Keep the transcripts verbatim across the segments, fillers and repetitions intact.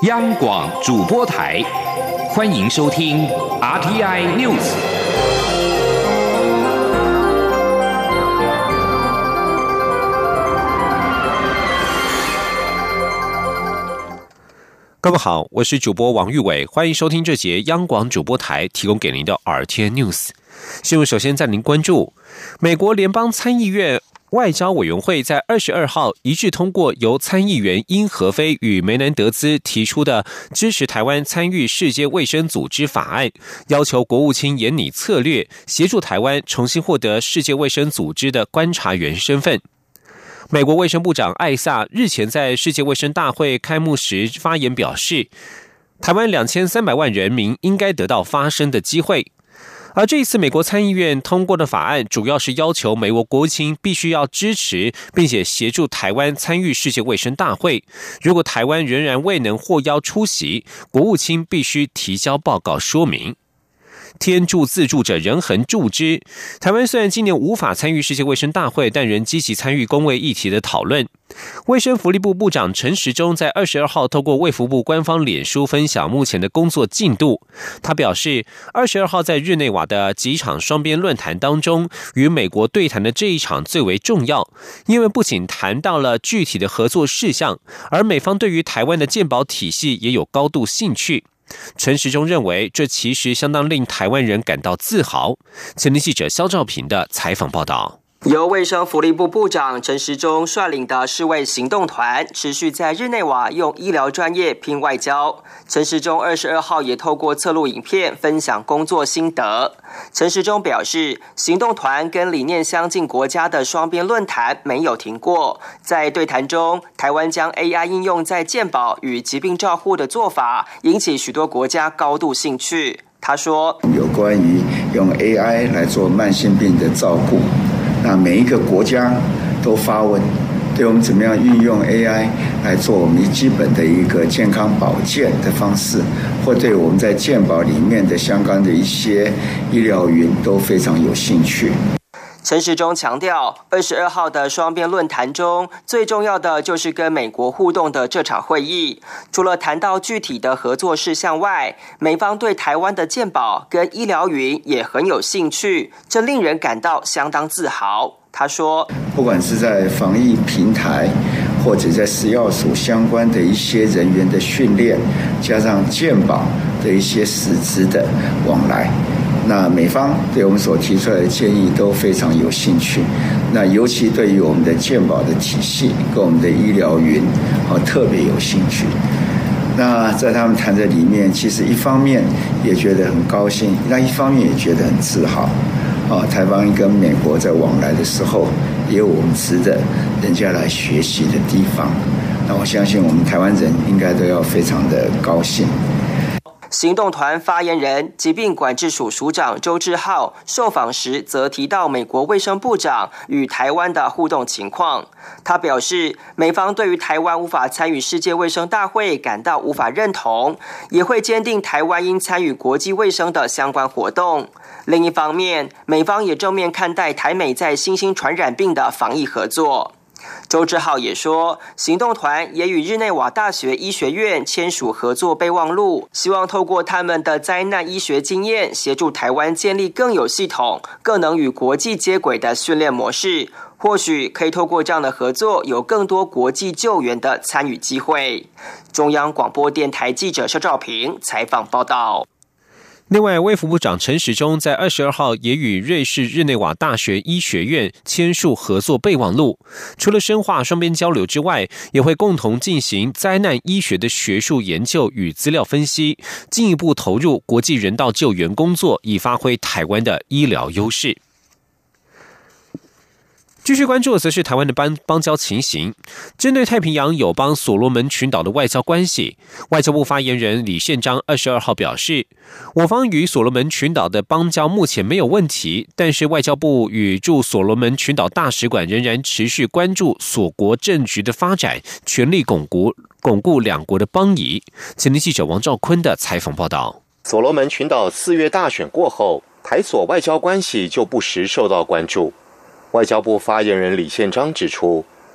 央广主播台，欢迎收听 R T I News。各位好，我是主播王玉伟，欢迎收听这节央广主播台提供给您的 R T I News 新闻。首先带您关注，美国联邦参议院外交委员会在二十二号一致通过由参议员因和菲与梅南德兹提出的支持台湾参与世界卫生组织法案，要求国务卿研拟策略，协助台湾重新获得世界卫生组织的观察员身份。美国卫生部长艾萨日前在世界卫生大会开幕时发言表示，台湾两千三百万人民应该得到发声的机会。而这一次美国参议院通过的法案主要是要求美国国务卿必须要支持并且协助台湾参与世界卫生大会，如果台湾仍然未能获邀出席，国务卿必须提交报告说明。天助自助者人恒助之，台湾虽然今年无法参与世界卫生大会，但仍积极参与公卫议题的讨论。卫生福利部部长陈时中在二十二号透过卫福部官方脸书分享目前的工作进度。他表示，二十二号在日内瓦的几场双边论坛当中，与美国对谈的这一场最为重要，因为不仅谈到了具体的合作事项，而美方对于台湾的健保体系也有高度兴趣。陈时中认为，这其实相当令台湾人感到自豪。前天记者肖兆平的采访报道。 由卫生福利部部长陈时中率领的世卫行动团持续在日内瓦用医疗专业拼外交。陈时中二十二号也透过侧录影片分享工作心得。陈时中表示，行动团跟理念相近国家的双边论坛没有停过，在对谈中，台湾将 A I 应用在健保与疾病照护的做法引起许多国家高度兴趣。他说， 有关于用 A I 来做慢性病的照顾，那每一个国家都发问，对我们怎么样运用 A I 来做我们基本的一个健康保健的方式，或对我们在健保里面的相关的一些医疗云都非常有兴趣。 陈时中强调，二十二号的双边论坛中，最重要的就是跟美国互动的这场会议。除了谈到具体的合作事项外，美方对台湾的健保跟医疗云也很有兴趣，这令人感到相当自豪。他说， 不管是在防疫平台，或者在食药署相关的一些人员的训练，加上健保的一些实质的往来，那美方对我们所提出来的建议都非常有兴趣，那尤其对于我们的健保的体系跟我们的医疗云特别有兴趣。那在他们谈的里面，其实一方面也觉得很高兴，那一方面也觉得很自豪。台湾跟美国在往来的时候，也有我们值得人家来学习的地方。那我相信我们台湾人应该都要非常的高兴。 行动团发言人疾病管制署署长周志浩受访时则提到美国卫生部长与台湾的互动情况。他表示，美方对于台湾无法参与世界卫生大会感到无法认同，也会坚定台湾应参与国际卫生的相关活动。另一方面，美方也正面看待台美在新兴传染病的防疫合作。周志浩也说，行动团也与日内瓦大学医学院签署合作备忘录，希望透过他们的灾难医学经验，协助台湾建立更有系统、更能与国际接轨的训练模式。或许可以透过这样的合作，有更多国际救援的参与机会。中央广播电台记者肖兆平采访报道。 另外，卫福部长陈时中在二十二号也与瑞士日内瓦大学医学院签署合作备忘录，除了深化双边交流之外，也会共同进行灾难医学的学术研究与资料分析，进一步投入国际人道救援工作，以发挥台湾的医疗优势。继续关注的则是台湾的邦邦交情形。针对太平洋友邦所罗门群岛的外交关系，外交部发言人李宪章二十二号表示，我方与所罗门群岛的邦交目前没有问题，但是外交部与驻所罗门群岛大使馆仍然持续关注所国政局的发展，全力巩固巩固两国的邦谊。前天记者王兆坤的采访报道。 所罗门群岛四月大选过后，台所外交关系就不时受到关注。外交部发言人李宪章指出，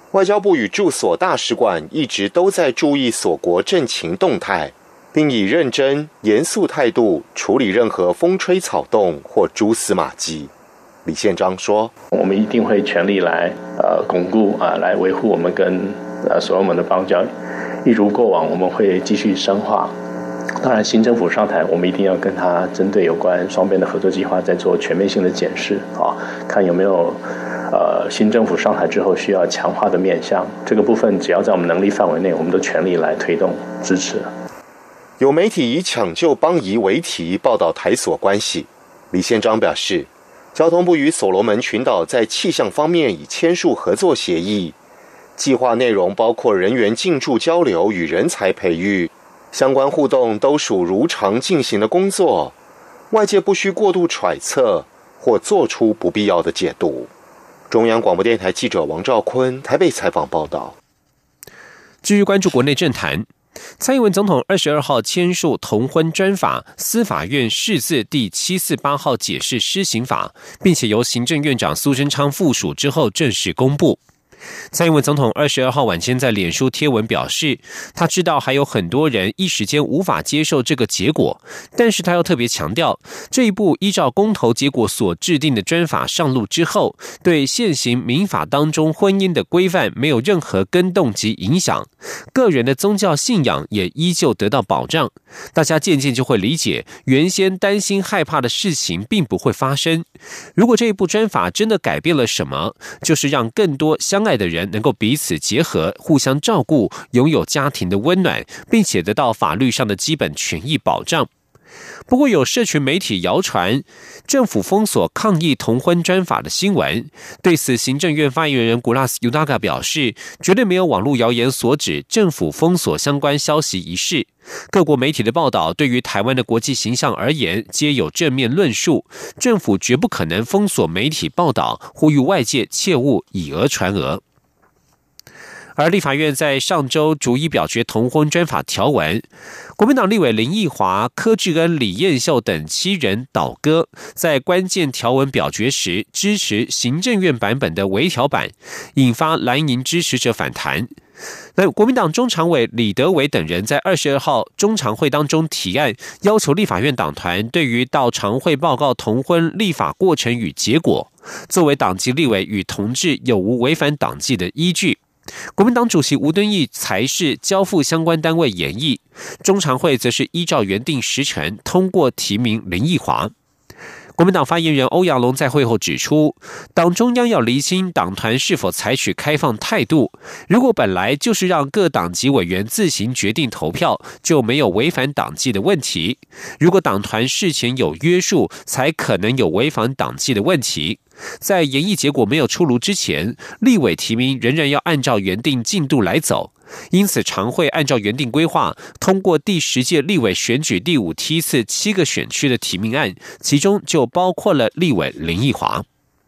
外交部与驻所大使馆一直都在注意所国政情动态，并以认真、严肃态度处理任何风吹草动或蛛丝马迹。李宪章说：“ 我们一定会全力来呃巩固啊、呃，来维护我们跟呃所罗门的邦交，一如过往，我们会继续深化。当然，新政府上台，我们一定要跟他针对有关双边的合作计划再做全面性的检视啊，看有没有呃新政府上台之后需要强化的面向。这个部分只要在我们能力范围内，我们都全力来推动支持。” 有媒体以抢救邦谊为题报道台所关系，李宪章表示，交通部与所罗门群岛在气象方面已签署合作协议，计划内容包括人员进驻交流与人才培育，相关互动都属如常进行的工作，外界不需过度揣测或做出不必要的解读。中央广播电台记者王兆坤台北采访报道。 继续关注国内政坛，蔡英文总统二十二号签署同婚专法，司法院释字第七四八号解释施行法，并且由行政院长苏贞昌附属之后正式公布。蔡英文总统二十二号晚间在脸书贴文表示，他知道还有很多人一时间无法接受这个结果，但是他又特别强调，这一部依照公投结果所制定的专法上路之后，对现行民法当中婚姻的规范没有任何更动及影响，个人的宗教信仰也依旧得到保障。大家渐渐就会理解，原先担心害怕的事情并不会发生。如果这一部专法真的改变了什么，就是让更多相爱的人能够彼此结合，互相照顾，拥有家庭的温暖，并且得到法律上的基本权益保障。不过有社群媒体谣传政府封锁抗议同婚专法的新闻，对此行政院发言人古拉斯尤达嘎表示，绝对没有网络谣言所指政府封锁相关消息一事。各国媒体的报道对于台湾的国际形象而言皆有正面论述，政府绝不可能封锁媒体报道，呼吁外界切勿以讹传讹。而立法院在上周逐一表决同婚专法条文，国民党立委林奕华、柯志恩、李彦秀等七人倒戈，在关键条文表决时支持行政院版本的微调版，引发蓝营支持者反弹。那国民党中常委李德维等人在二十二号中常会当中提案，要求立法院党团对于到常会报告同婚立法过程与结果，作为党籍立委与同志有无违反党纪的依据。国民党主席吴敦义才是交付相关单位研议，中常会则是依照原定时程通过提名林奕华。国民党发言人欧阳龙在会后指出，党中央要厘清党团是否采取开放态度，如果本来就是让各党籍委员自行决定投票，就没有违反党纪的问题；如果党团事前有约束，才可能有违反党纪的问题。在研议结果没有出炉之前，立委提名仍然要按照原定进度来走。因此常会按照原定规划通过第十届立委选举第五梯次七个选区的提名案，其中就包括了立委林奕华。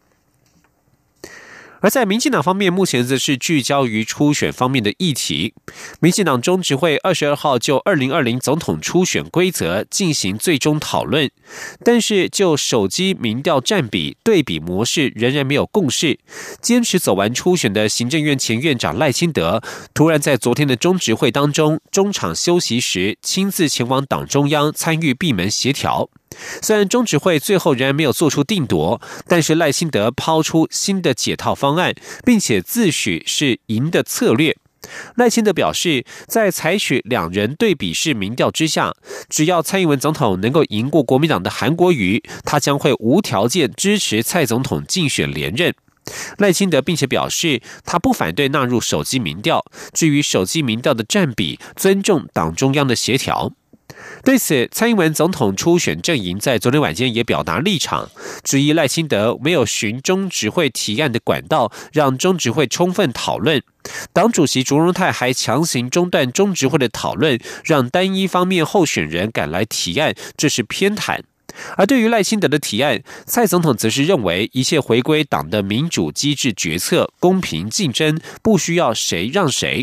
而在民进党方面，目前则是聚焦于初选方面的议题。民进党中执会二十二号就二零二零总统初选规则进行最终讨论，但是就手机民调占比对比模式仍然没有共识。坚持走完初选的行政院前院长赖清德，突然在昨天的中执会当中中场休息时，亲自前往党中央参与闭门协调。虽然中执会最后仍然没有做出定夺，但是赖清德抛出新的解套方案，并且自诩是赢的策略。赖清德表示，在采取两人对比式民调之下，只要蔡英文总统能够赢过国民党的韩国瑜，他将会无条件支持蔡总统竞选连任。赖清德并且表示，他不反对纳入手机民调，至于手机民调的占比，尊重党中央的协调。对此，蔡英文总统初选阵营在昨天晚间也表达立场，质疑赖清德没有循中执会提案的管道，让中执会充分讨论。党主席卓荣泰还强行中断中执会的讨论，让单一方面候选人赶来提案，这是偏袒。而对于赖清德的提案，蔡总统则是认为一切回归党的民主机制决策，公平竞争，不需要谁让谁。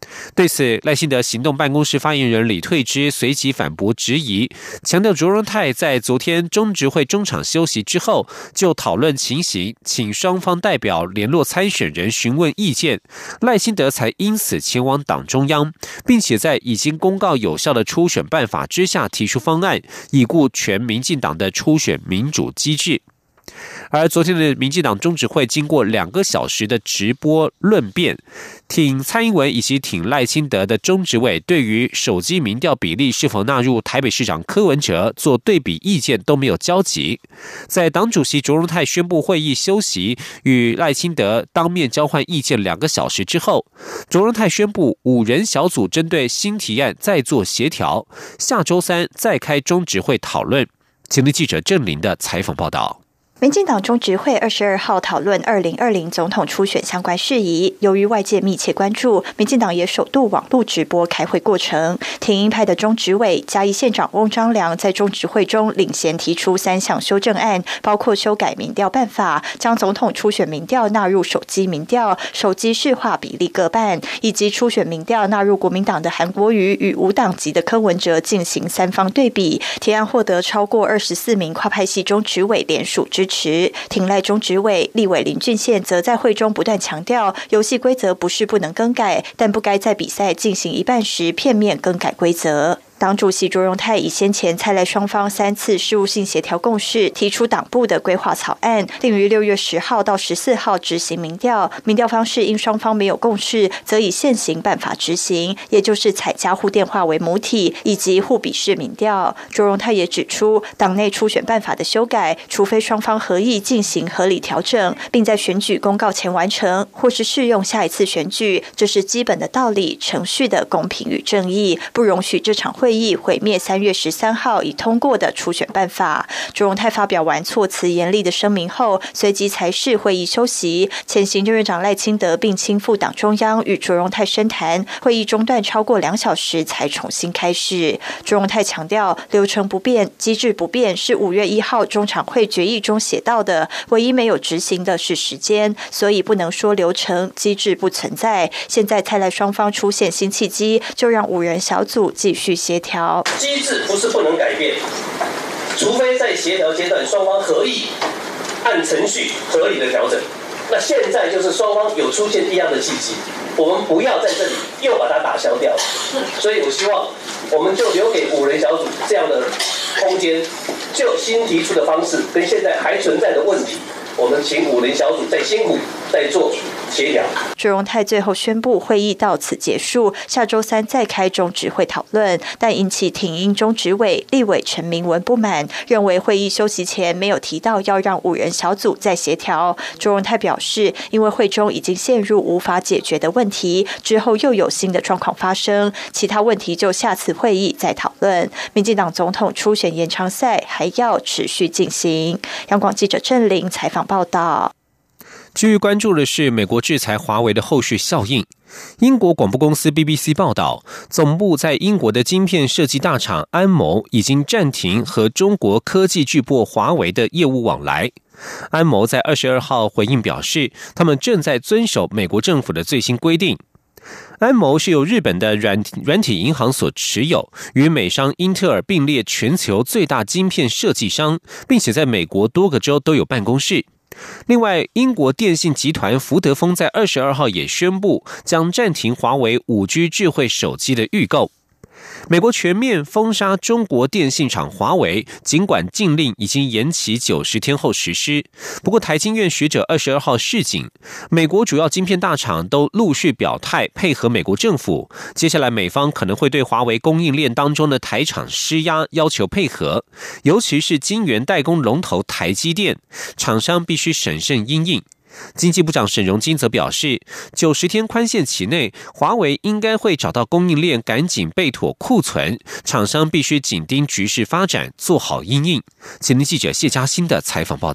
对此，赖清德行动办公室发言人李退之随即反驳质疑，强调卓荣泰在昨天中执会中场休息之后就讨论情形，请双方代表联络参选人询问意见，赖清德才因此前往党中央，并且在已经公告有效的初选办法之下提出方案，以顾全民进党的初选民主机制。而昨天的民进党中执会经过两个小时的直播论辩，挺蔡英文以及挺赖清德的中执委对于手机民调比例是否纳入台北市长柯文哲做对比意见都没有交集。在党主席卓荣泰宣布会议休息，与赖清德当面交换意见两个小时之后，卓荣泰宣布五人小组针对新提案再做协调，下周三再开中执会讨论。前天记者郑林的采访报道。 民进党中执会二十二号讨论二零二零总统初选相关事宜，由于外界密切关注，民进党也首度网络直播开会过程。挺英派的中执委嘉义县长翁章良在中执会中领衔提出三项修正案，包括修改民调办法，将总统初选民调纳入手机民调，手机市话比例各半，以及初选民调纳入国民党的韩国瑜与无党籍的柯文哲进行三方对比。提案获得超过二十四名跨派系中执委联署支持。挺赖中执委立委林俊宪则在会中不断强调，游戏规则不是不能更改，但不该在比赛进行一半时片面更改规则。党主席卓荣泰以先前蔡赖双方三次事务性协调共识，提出党部的规划草案，定于六月十号到十四号执行民调。民调方式因双方没有共识，则以现行办法执行，也就是采家户电话为母体，以及互比式民调。卓荣泰也指出，党内初选办法的修改，除非双方合意进行合理调整，并在选举公告前完成，或是适用下一次选举，这是基本的道理，程序的公平与正义，不容许这场会会议毁灭三月十三号已通过的初选办法。卓荣泰发表完措辞严厉的声明后，随即裁示会议休息。前行政院长赖清德并亲赴党中央与卓荣泰深谈，会议中断超过两小时才重新开始。卓荣泰强调，流程不变、机制不变是五月一号中常会决议中写到的，唯一没有执行的是时间，所以不能说流程机制不存在。现在蔡赖双方出现新契机，就让五人小组继续协调。 机制不是不能改变，除非在协调阶段双方合意按程序合理的调整。那现在就是双方有出现一样的契机，我们不要在这里又把它打消掉。所以我希望我们就留给五人小组这样的空间，就新提出的方式跟现在还存在的问题，我们请五人小组再辛苦再做协调。 卓荣泰最后宣布会议到此结束，下周三再开中执会讨论，但引起挺英中执委立委陈明文不满，认为会议休息前没有提到要让五人小组再协调。卓荣泰表示，因为会中已经陷入无法解决的问题，之后又有新的状况发生，其他问题就下次会议再讨论。民进党总统初选延长赛还要持续进行。央广记者郑玲采访报道。 继续关注的是美国制裁华为的后续效应。英国广播公司 B B C 报道，总部在英国的晶片设计大厂安谋已经暂停和中国科技巨擘华为的业务往来。安谋在二十二号回应表示，他们正在遵守美国政府的最新规定。安谋是由日本的软软体银行所持有，与美商英特尔并列全球最大晶片设计商，并且在美国多个州都有办公室。另外，英国电信集团福德丰在二十二号也宣布将暂停华为 五 G 智慧手机的预购。美国全面封杀中国电信厂华为，尽管禁令已经延期九十天后实施，不过台经院学者二十二号示警，美国主要晶片大厂都陆续表态配合美国政府，接下来美方可能会对华为供应链当中的台厂施压，要求配合，尤其是晶圆代工龙头台积电，厂商必须审慎因应。经济部长沈荣津则表示，九十天宽限期内，华为应该会找到供应链，赶紧备妥库存，厂商必须紧盯局势发展，做好因应。前天记者谢嘉欣的采访报道。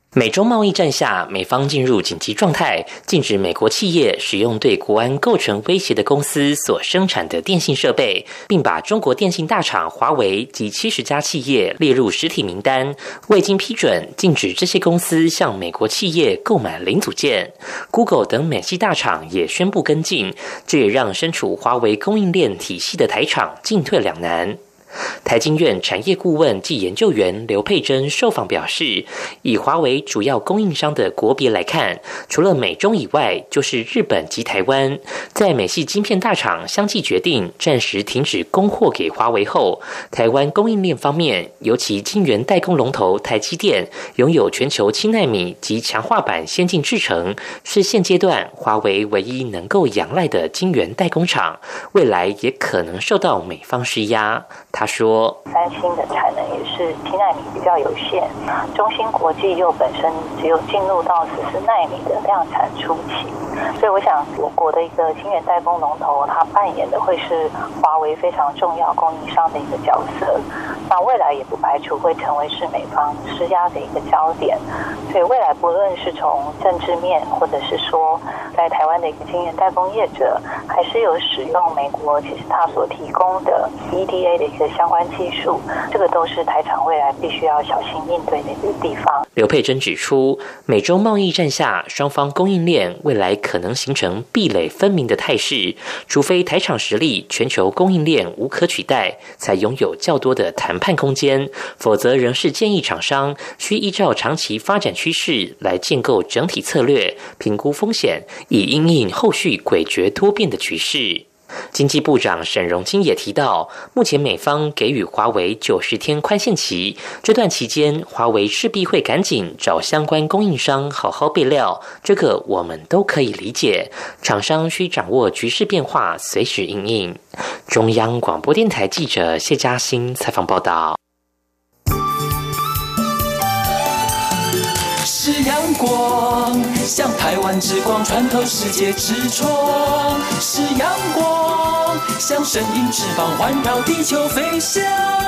美中贸易战下，美方进入紧急状态，禁止美国企业使用对国安构成威胁的公司所生产的电信设备，并把中国电信大厂华为及七十家企业列入实体名单，未经批准，禁止这些公司向美国企业购买零组件。Google 等美系大厂也宣布跟进，这也让身处华为供应链体系的台厂进退两难。台经院产业顾问暨研究员刘佩珍受访表示，以华为主要供应商的国别来看，除了美中以外，就是日本及台湾。在美系晶片大厂相继决定暂时停止供货给华为后，台湾供应链方面，尤其晶圆代工龙头台积电拥有全球七奈米及强化版先进制程，是现阶段华为唯一能够仰赖的晶圆代工厂，未来也可能受到美方施压。他说， 三星的产能也是七奈米比较有限，中芯国际又本身只有进入到十四奈米的量产初期，所以我想我国的一个晶圆代工龙头，它扮演的会是华为非常重要供应商的一个角色，那未来也不排除会成为是美方施压的一个焦点，所以未来不论是从政治面，或者是说在台湾的一个晶圆代工业者，还是有使用美国其实它所提供的 E D A 的一个相关技术，这个都是台厂未来必须要小心应对的一个地方。 刘佩珍指出，美中贸易战下，双方供应链未来可能形成壁垒分明的态势，除非台厂实力全球供应链无可取代，才拥有较多的谈判空间，否则仍是建议厂商需依照长期发展趋势来建构整体策略，评估风险，以因应后续诡谲多变的局势。经济部长沈荣津也提到，目前美方给予华为九十天宽限期，这段期间华为势必会赶紧找相关供应商好好备料，这个我们都可以理解，厂商需掌握局势变化，随时因应。中央广播电台记者谢嘉欣采访报道。 是阳光，像台湾之光穿透世界之窗；是阳光，像神鹰翅膀环绕地球飞翔。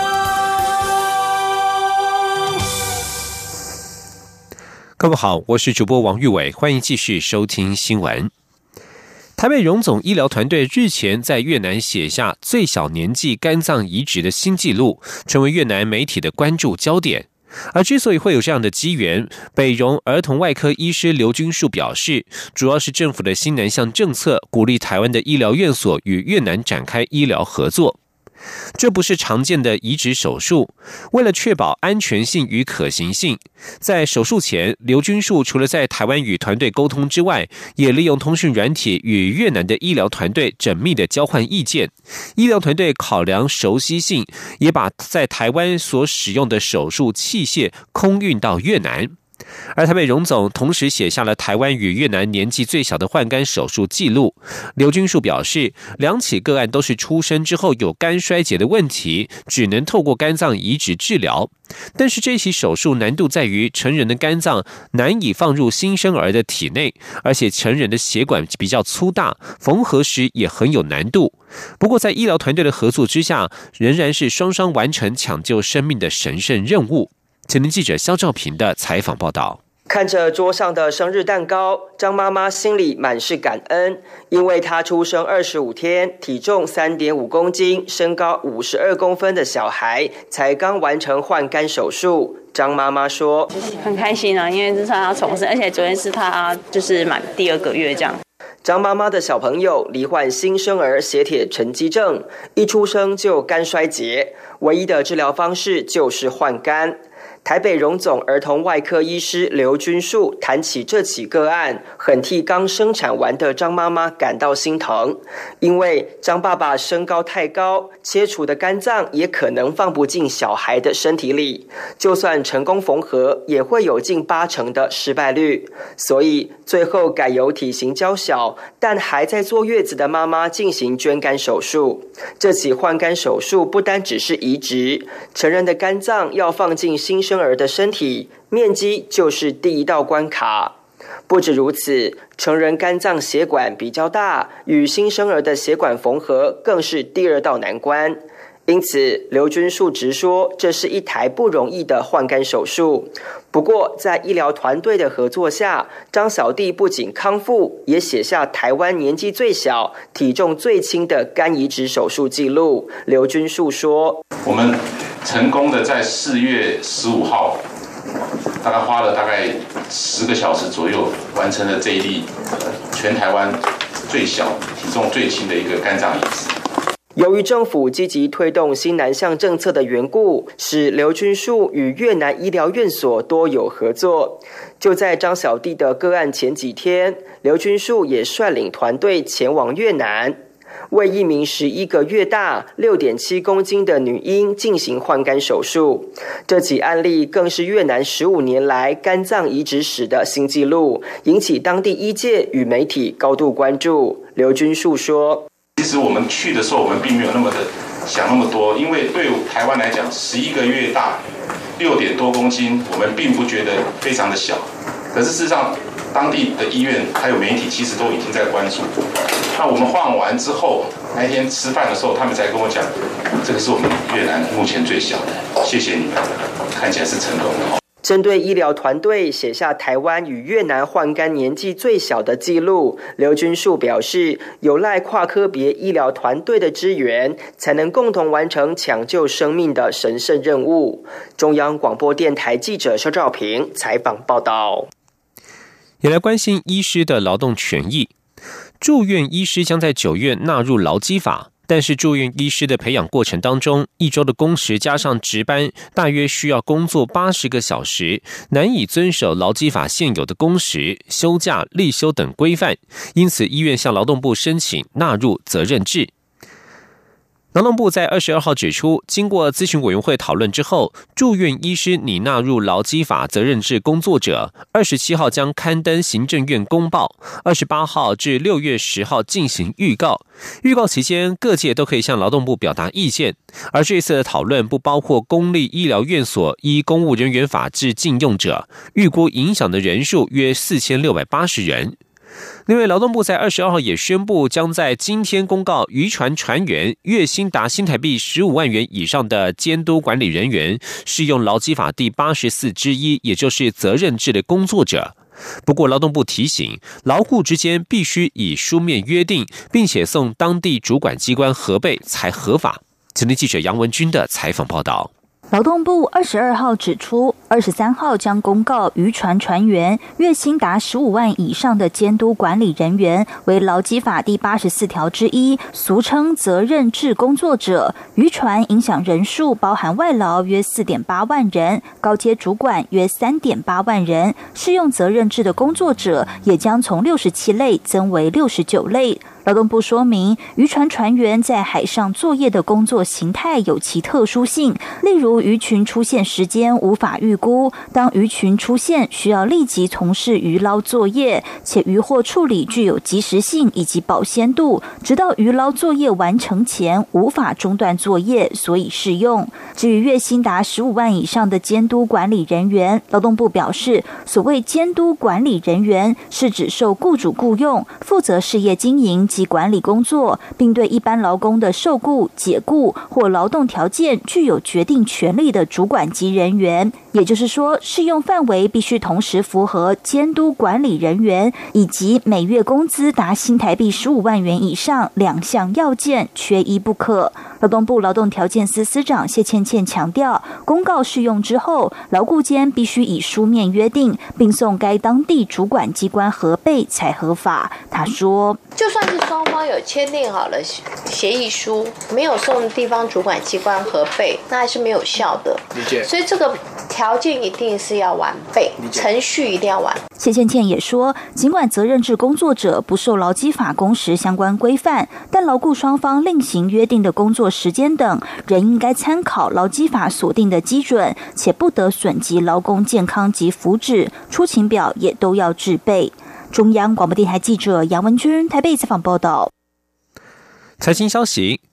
各位好，我是主播王玉伟，欢迎继续收听新闻。台北荣总医疗团队日前在越南写下最小年纪肝脏移植的新纪录，成为越南媒体的关注焦点。而之所以会有这样的机缘，北荣儿童外科医师刘君树表示，主要是政府的新南向政策鼓励台湾的医疗院所与越南展开医疗合作。这不是常见的移植手术，为了确保安全性与可行性，在手术前，刘君树除了在台湾与团队沟通之外，也利用通讯软体与越南的医疗团队缜密的交换意见。医疗团队考量熟悉性，也把在台湾所使用的手术器械空运到越南。而台北荣总同时写下了台湾与越南年纪最小的换肝手术记录。刘君树表示，两起个案都是出生之后有肝衰竭的问题，只能透过肝脏移植治疗。但是这起手术难度在于成人的肝脏难以放入新生儿的体内，而且成人的血管比较粗大，缝合时也很有难度。不过在医疗团队的合作之下，仍然是双双完成抢救生命的神圣任务。前天记者肖兆平的采访报道。 看着桌上的生日蛋糕，张妈妈心里满是感恩，因为她出生二十五天，体重 三点五公斤，身高五十二公分的小孩，才刚完成换肝手术。张妈妈说：“ 很开心啊，因为这是她重生，而且昨天是她就是满第二个月这样。” 张妈妈的小朋友罹患新生儿血铁沉积症，一出生就肝衰竭，唯一的治疗方式就是换肝。台北荣总儿童外科医师刘君树谈起这起个案，很替刚生产完的张妈妈感到心疼，因为张爸爸身高太高，切除的肝脏也可能放不进小孩的身体里，就算成功缝合，也会有近八成的失败率，所以最后改由体型较小但还在坐月子的妈妈进行捐肝手术。这起换肝手术不单只是移植，成人的肝脏要放进新生儿的身体，面积就是第一道关卡。不止如此，成人肝脏血管比较大，与新生儿的血管缝合更是第二道难关。 因此，刘军树直说，这是一台不容易的换肝手术。不过，在医疗团队的合作下，张小弟不仅康复，也写下台湾年纪最小、体重最轻的肝移植手术记录。刘军树说：“ 我们成功的在四月十五号，大概花了大概十个小时左右，完成了这一例全台湾最小、体重最轻的一个肝脏移植。” 由于政府积极推动新南向政策的缘故，使刘军树与越南医疗院所多有合作。就在张小弟的个案前几天，刘军树也率领团队前往越南，为一名十一个月大、六点七公斤的女婴进行换肝手术。这起案例更是越南十五年来肝脏移植史的新纪录，引起当地医界与媒体高度关注。刘军树说：“ 其实我们去的时候，我们并没有那么的想那么多，因为对台湾来讲，十一个月大、六点多公斤，我们并不觉得非常的小。可是事实上，当地的医院还有媒体其实都已经在关注。那我们换完之后，那天吃饭的时候，他们才跟我讲，这个是我们越南目前最小的，谢谢你们，看起来是成功的。” 针对医疗团队写下台湾与越南换肝年纪最小的记录，刘军树表示，有赖跨科别医疗团队的支援，才能共同完成抢救生命的神圣任务。中央广播电台记者肖兆平采访报道。 也来关心医师的劳动权益。住院医师将在九月纳入劳基法，但是住院医师的培养过程当中，一周的工时加上值班，大约需要工作八十个小时，难以遵守劳基法现有的工时、休假、例休等规范，因此医院向劳动部申请纳入责任制。劳动部在二十二号指出，经过咨询委员会讨论之后，住院医师拟纳入劳基法责任制工作者，二十七号将刊登行政院公报，二十八号至六月十号进行预告。预告期间，各界都可以向劳动部表达意见。而这次的讨论不包括公立医疗院所依公务人员法制禁用者，预估影响的人数约四千六百八十人。另外，劳动部在二十二号也宣布，将在今天公告渔船船员月薪达新台币十五万元以上的监督管理人员适用劳基法第八十四之一，也就是责任制的工作者。不过，劳动部提醒，劳雇之间必须以书面约定，并且送当地主管机关核备才合法。前天记者杨文君的采访报道。 劳动部二十二号指出，二十三号将公告渔船船员月薪达十五万以上的监督管理人员为劳基法第八十四条之一，俗称责任制工作者。渔船影响人数包含外劳约四点八万人，高阶主管约三点八万人。适用责任制的工作者也将从六十七类增为六十九类。劳动部说明，渔船船员在海上作业的工作形态有其特殊性，例如鱼群出现时间无法预估，当鱼群出现需要立即从事渔捞作业，且渔获处理具有及时性以及保鲜度，直到渔捞作业完成前无法中断作业，所以适用。至于月薪达十五万以上的监督管理人员，劳动部表示，所谓监督管理人员是指受雇主雇用，负责事业经营及管理工作，并对一般劳工的受雇、解雇或劳动条件具有决定权利的主管级人员。也就是说，适用范围必须同时符合监督管理人员以及每月工资达新台币十五万元以上两项要件，缺一不可。劳动部劳动条件司司长谢倩倩强调，公告适用之后，劳雇间必须以书面约定，并送该当地主管机关核备才合法。他说， 就算是双方有签订好了协议书，没有送地方主管机关核备，那还是没有效的。理解。所以这个条件一定是要完备，程序一定要完。 谢倩倩也说，尽管责任制工作者不受劳基法工时相关规范，但劳雇双方另行约定的工作时间等，仍应该参考劳基法所定的基准，且不得损及劳工健康及福祉，出勤表也都要制备。中央广播电台记者杨文君台北采访报道。 财经消息，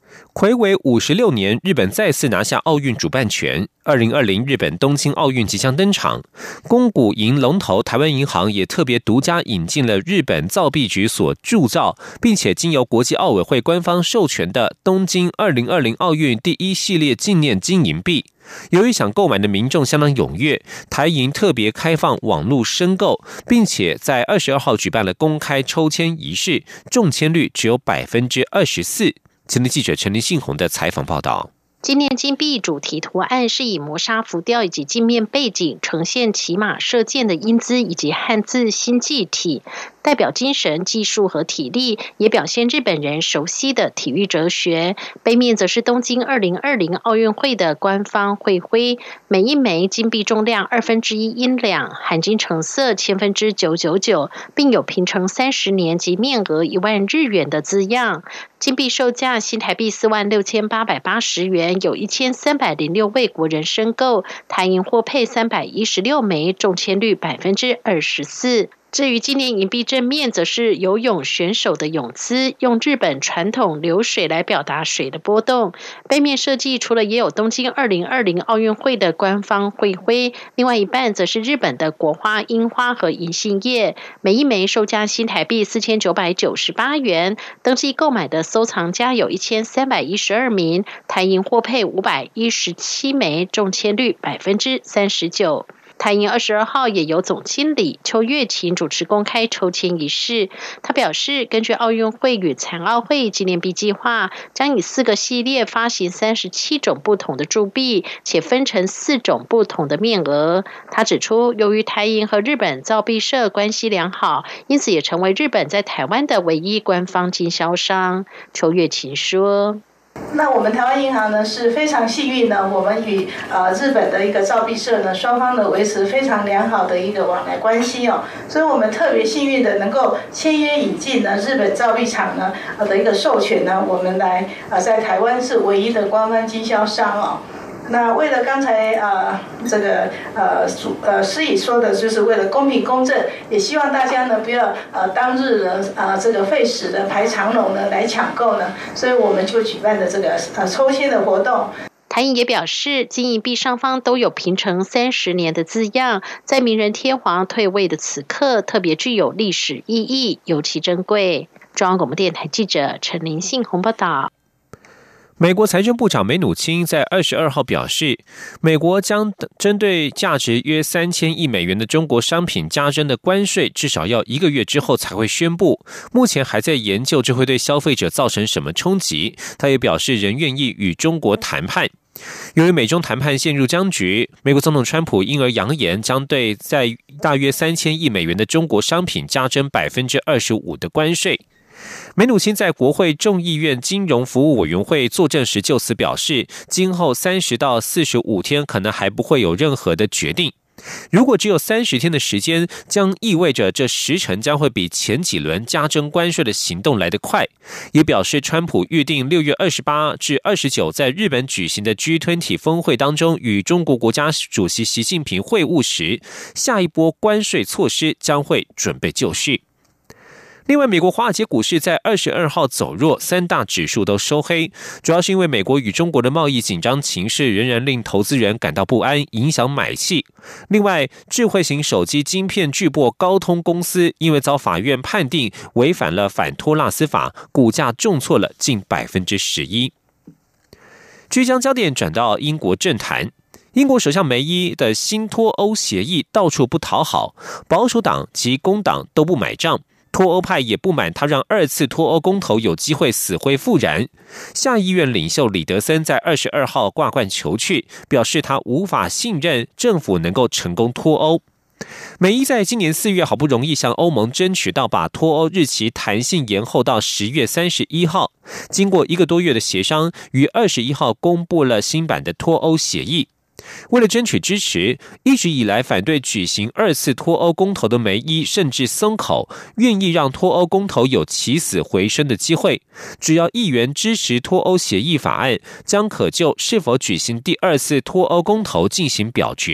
睽违五十六年，日本再次拿下奥运主办权。二零二零日本东京奥运即将登场，公股银龙头台湾银行也特别独家引进了日本造币局所铸造，并且经由国际奥委会官方授权的东京二零二零奥运第一系列纪念金银币。由于想购买的民众相当踊跃，台银特别开放网络申购，并且在二十二号举办了公开抽签仪式，中签率只有百分之二十四。前天记者陈林信宏的采访报道。 纪念金币主题图案是以磨砂浮雕以及镜面背景，呈现骑马射箭的英姿以及汉字新纪体，代表精神、技术和体力，也表现日本人熟悉的体育哲学。背面则是东京二零二零奥运会的官方会徽，每一枚金币重量二分之一英两，含金成色千分之九九九，并有平成三十年及面额一万日元的字样。金币售价新台币四万六千八百八十元，有一千三百零六位国人申购，台银获配三百一十六枚，中签率百分之二十四。至于纪念银币正面，则是游泳选手的泳姿，用日本传统流水来表达水的波动。背面设计除了也有东京二零二零奥运会的官方会徽，另外一半则是日本的国花、樱花和银杏叶，每一枚售价新台币四千九百九十八元。登记购买的收藏家有一千三百一十二名，台银获配五百一十七枚，中签率百分之三十九。台银二十二号也由总经理邱月琴主持公开抽签仪式。他表示，根据奥运会与残奥会纪念币计划，将以四个系列发行三十七种不同的铸币，且分成四种不同的面额。他指出，由于台银和日本造币社关系良好，因此也成为日本在台湾的唯一官方经销商。邱月琴说， 那我们台湾银行呢是非常幸运呢，我们与呃日本的一个造币社呢，双方呢维持非常良好的一个往来关系哦，所以我们特别幸运的能够签约引进呢日本造币厂呢呃的一个授权呢，我们来呃在台湾是唯一的官方经销商哦。那为了刚才呃这个呃主呃司仪说的，就是为了公平公正，也希望大家呢不要呃当日的呃这个费时的排长龙呢来抢购呢，所以我们就举办的这个呃抽签的活动。 台银也表示，金银币上方都有平成三十年的字样，在明仁天皇退位的此刻，特别具有历史意义，尤其珍贵。中央广播电台记者陈林信宏报道。 美国财政部长梅努钦在二十二号表示，美国将针对价值约三千亿美元的中国商品加征的关税，至少要一个月之后才会宣布。目前还在研究这会对消费者造成什么冲击。他也表示，仍愿意与中国谈判。由于美中谈判陷入僵局，美国总统川普因而扬言将对在大约三千亿美元的中国商品加征百分之二十五的关税。梅努钦在国会众议院金融服务委员会作证时就此表示，今后三十到四十五天可能还不会有任何的决定。如果只有三十天的时间，将意味着这时程将会比前几轮加征关税的行动来得快。也表示，川普预定六月二十八至二十九在日本举行的 G 二十 峰会当中与中国国家主席习近平会晤时，下一波关税措施将会准备就绪。另外，美国华尔街股市在二十二号走弱，三大指数都收黑，主要是因为美国与中国的贸易紧张情势仍然令投资人感到不安，影响买气。另外，智慧型手机晶片巨擘高通公司因为遭法院判定违反了反托拉斯法，股价重挫了近百分之十一。据将焦点转到英国政坛。英国首相梅伊的新脱欧协议到处不讨好，保守党及工党都不买账。脱欧派也不满他让二次脱欧公投有机会死灰复燃。下议院领袖李德森在二十二号挂冠求去，表示他无法信任政府能够成功脱欧。梅伊在今年四月好不容易向欧盟争取到把脱欧日期弹性延后到十月三十一号，经过一个多月的协商，于二十一号公布了新版的脱欧协议。为了争取支持，一直以来反对举行二次脱欧公投的梅伊甚至松口，愿意让脱欧公投有起死回生的机会。只要议员支持脱欧协议法案，将可就是否举行第二次脱欧公投进行表决。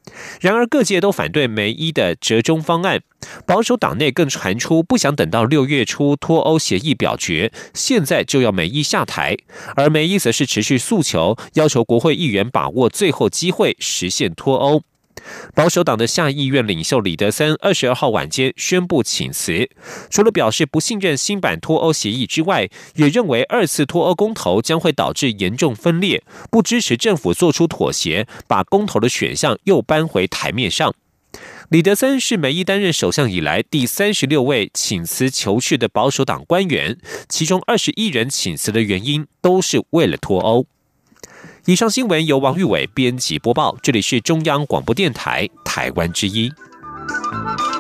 然而各界都反对梅伊的折中方案，保守党内更传出不想等到六月初脱欧协议表决，现在就要梅伊下台，而梅伊则是持续诉求，要求国会议员把握最后机会实现脱欧。保守党的下议院领袖李德森二十二号晚间宣布请辞，除了表示不信任新版脱欧协议之外，也认为二次脱欧公投将会导致严重分裂，不支持政府做出妥协，把公投的选项又搬回台面上。李德森是梅伊担任首相以来第三十六位请辞求去的保守党官员，其中二十一人请辞的原因都是为了脱欧。以上新闻由王玉伟编辑播报，这里是中央广播电台台湾之音。